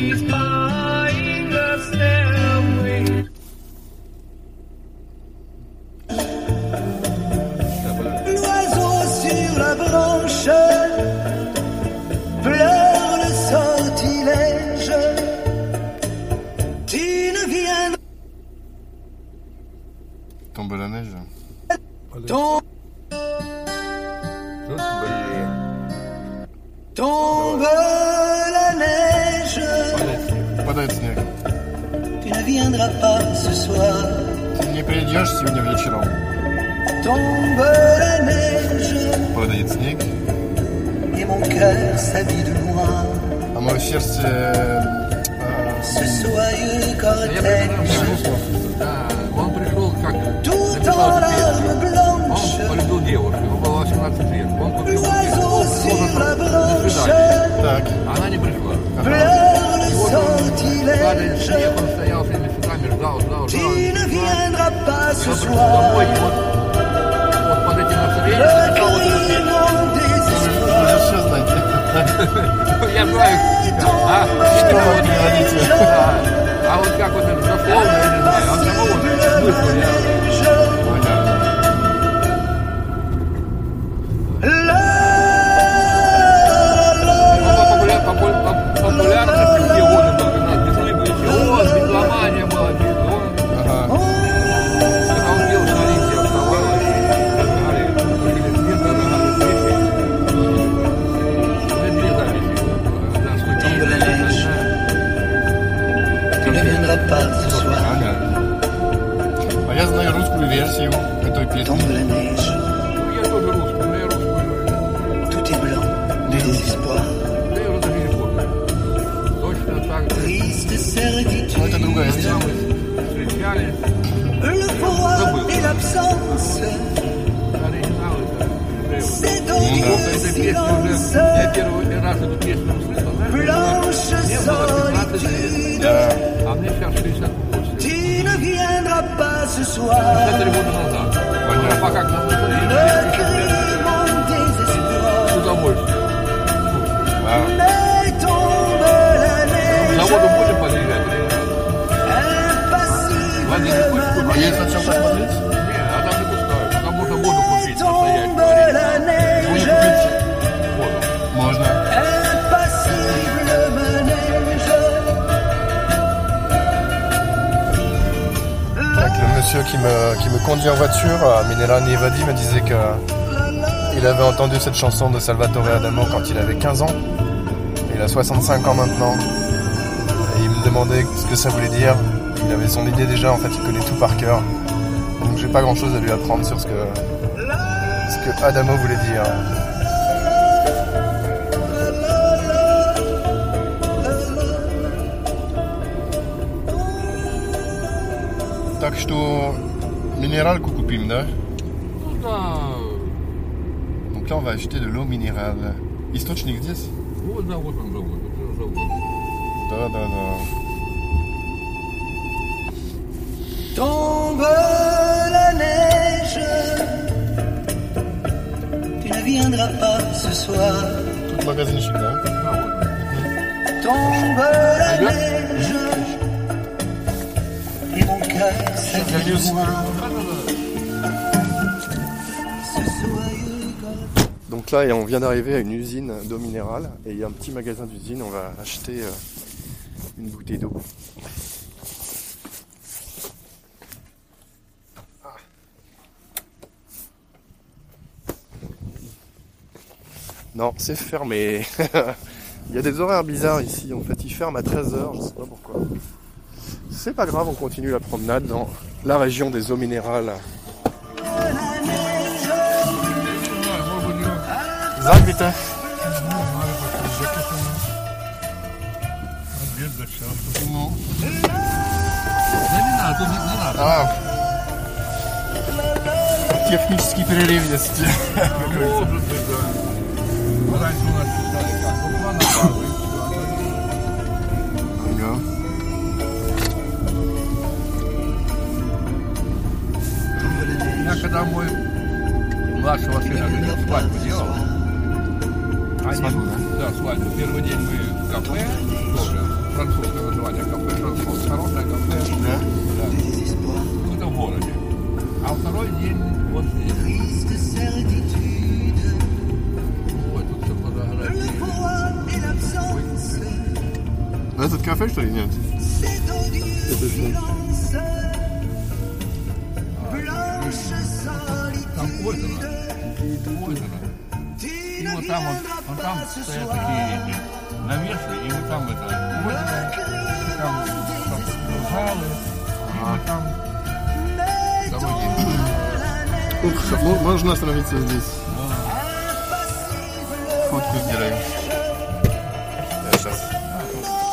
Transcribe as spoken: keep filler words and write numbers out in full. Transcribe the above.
Tombe la neige. Tombe, tombe la neige. Падает снег. Tu ne viendras pas ce soir. Ты не придешь сегодня вечером. Tombe la neige. Падает снег. Et mon cœur s'habille de noir. А мое сердце... Э, Ce soyeux cortège. Да, он пришел как... Tout en larmes blanches. Он полюбил девушку, ему было восемнадцать лет. Он купил L'oiseau sur la branche. Так. Она не пришла. Pleure le Вот он, падает sortilège. снег, он стоял всеми цветами, ждал, ждал, Tu ждал. ne viendras pas ce Он пришел домой, и soir. вот, вот под этим настроением Le написал вот эту cri песню. mon désespoir. Все знаете. Я знаю, а, Что вы говорите? да. А вот как вот это дословно, я не знаю, он самого смысла, я... Популярность в те годы был, когда безумие были теории, битломания была, он, Ага. когда он пел, что Олимпия вставала и разгорали, купили свет, разгорали свечи. Это две записи. Да, студийная, Tu ne viendras pas ce soir. Ага. А я знаю русскую версию этой Tombe песни. la neige. Ну, я тоже русский, но я русскую, Tout est blanc de désespoir. да я уже даже не помню. Точно так же. Triste Ну, certitude. это другая Когда история. мы встречались, Le froid et l'absence. оригинал это... C'est Ну, ton да. Эта песня уже, silence. я первый раз эту песню услышал, знаешь, Blanche мне было пятнадцать лет, solitude. Да. а мне сейчас шестьдесят восемь. Tu ne viendras pas ce soir. Четыре года назад. Понятно. А пока к нам Le cri mon désespoir. с удовольствием. Вау. Mais tombe la К neige. заводу будем подъезжать или нет? Владимир, Impassible хочешь А купить? есть на чем посмотреть? Нет, а там не пускают. Там можно воду купить, настоящую. tombe la Можно neige. купить? Воду. Можно. Impassible manège. Donc, le monsieur qui me, qui me conduit en voiture, à Mineral Nevadi, me disait que il avait entendu cette chanson de Salvatore Adamo quand il avait quinze ans. Il a soixante-cinq ans maintenant. Et il me demandait ce que ça voulait dire. Il avait son idée déjà, en fait, il connaît tout par cœur. Donc j'ai pas grand chose à lui apprendre sur ce que, ce que Adamo voulait dire. Так что минералку купим, да? Ну да, Donc là, on va acheter de l'eau minérale. Источник здесь? вот да, вот он завод, это завод. Да, да, да. Tombe la neige. Tu ne viendras pas ce soir. Тут магазинчик, да? Tombe la neige. Et mon cœur s'habille de noir. Ce soyeux cortège. Donc là, on vient d'arriver à une usine d'eau minérale. Et il y a un petit magasin d'usine. On va acheter euh, une bouteille d'eau. Non, c'est fermé. Il y a des horaires bizarres ici. En fait, ils ferment à treize heures. Je sais pas pourquoi. C'est pas grave, on continue la promenade dans la région des eaux minérales. Zag, bitte. Ну. Да не надо, тут не, не надо. А. Технический перерыв есть. Может быть, да. Раньше у нас писали как, ну, план базы. Ага. Я когда мой младшего сына говорил, свадьбу делал, они, Свадьбу, да, свадьбу. Первый день мы в кафе, тоже, французское название кафе Жансон. Хорошее кафе. Да? Да. Это в городе. А второй день вот здесь. Triste certitude, Ой, тут все le фотографии. froid et l'absence, А этот кафе, что ли, нет? cet odieux Это что? silence, blanche Там solitude, озеро. Озеро. tu И ne вот там вот, viendras вот там pas ce стоят soir. такие эти навесы, и вот там это озеро, там, там залы, и вот там дороги. Ух, мо- можно остановиться здесь. Фотку сделаем. Я сейчас.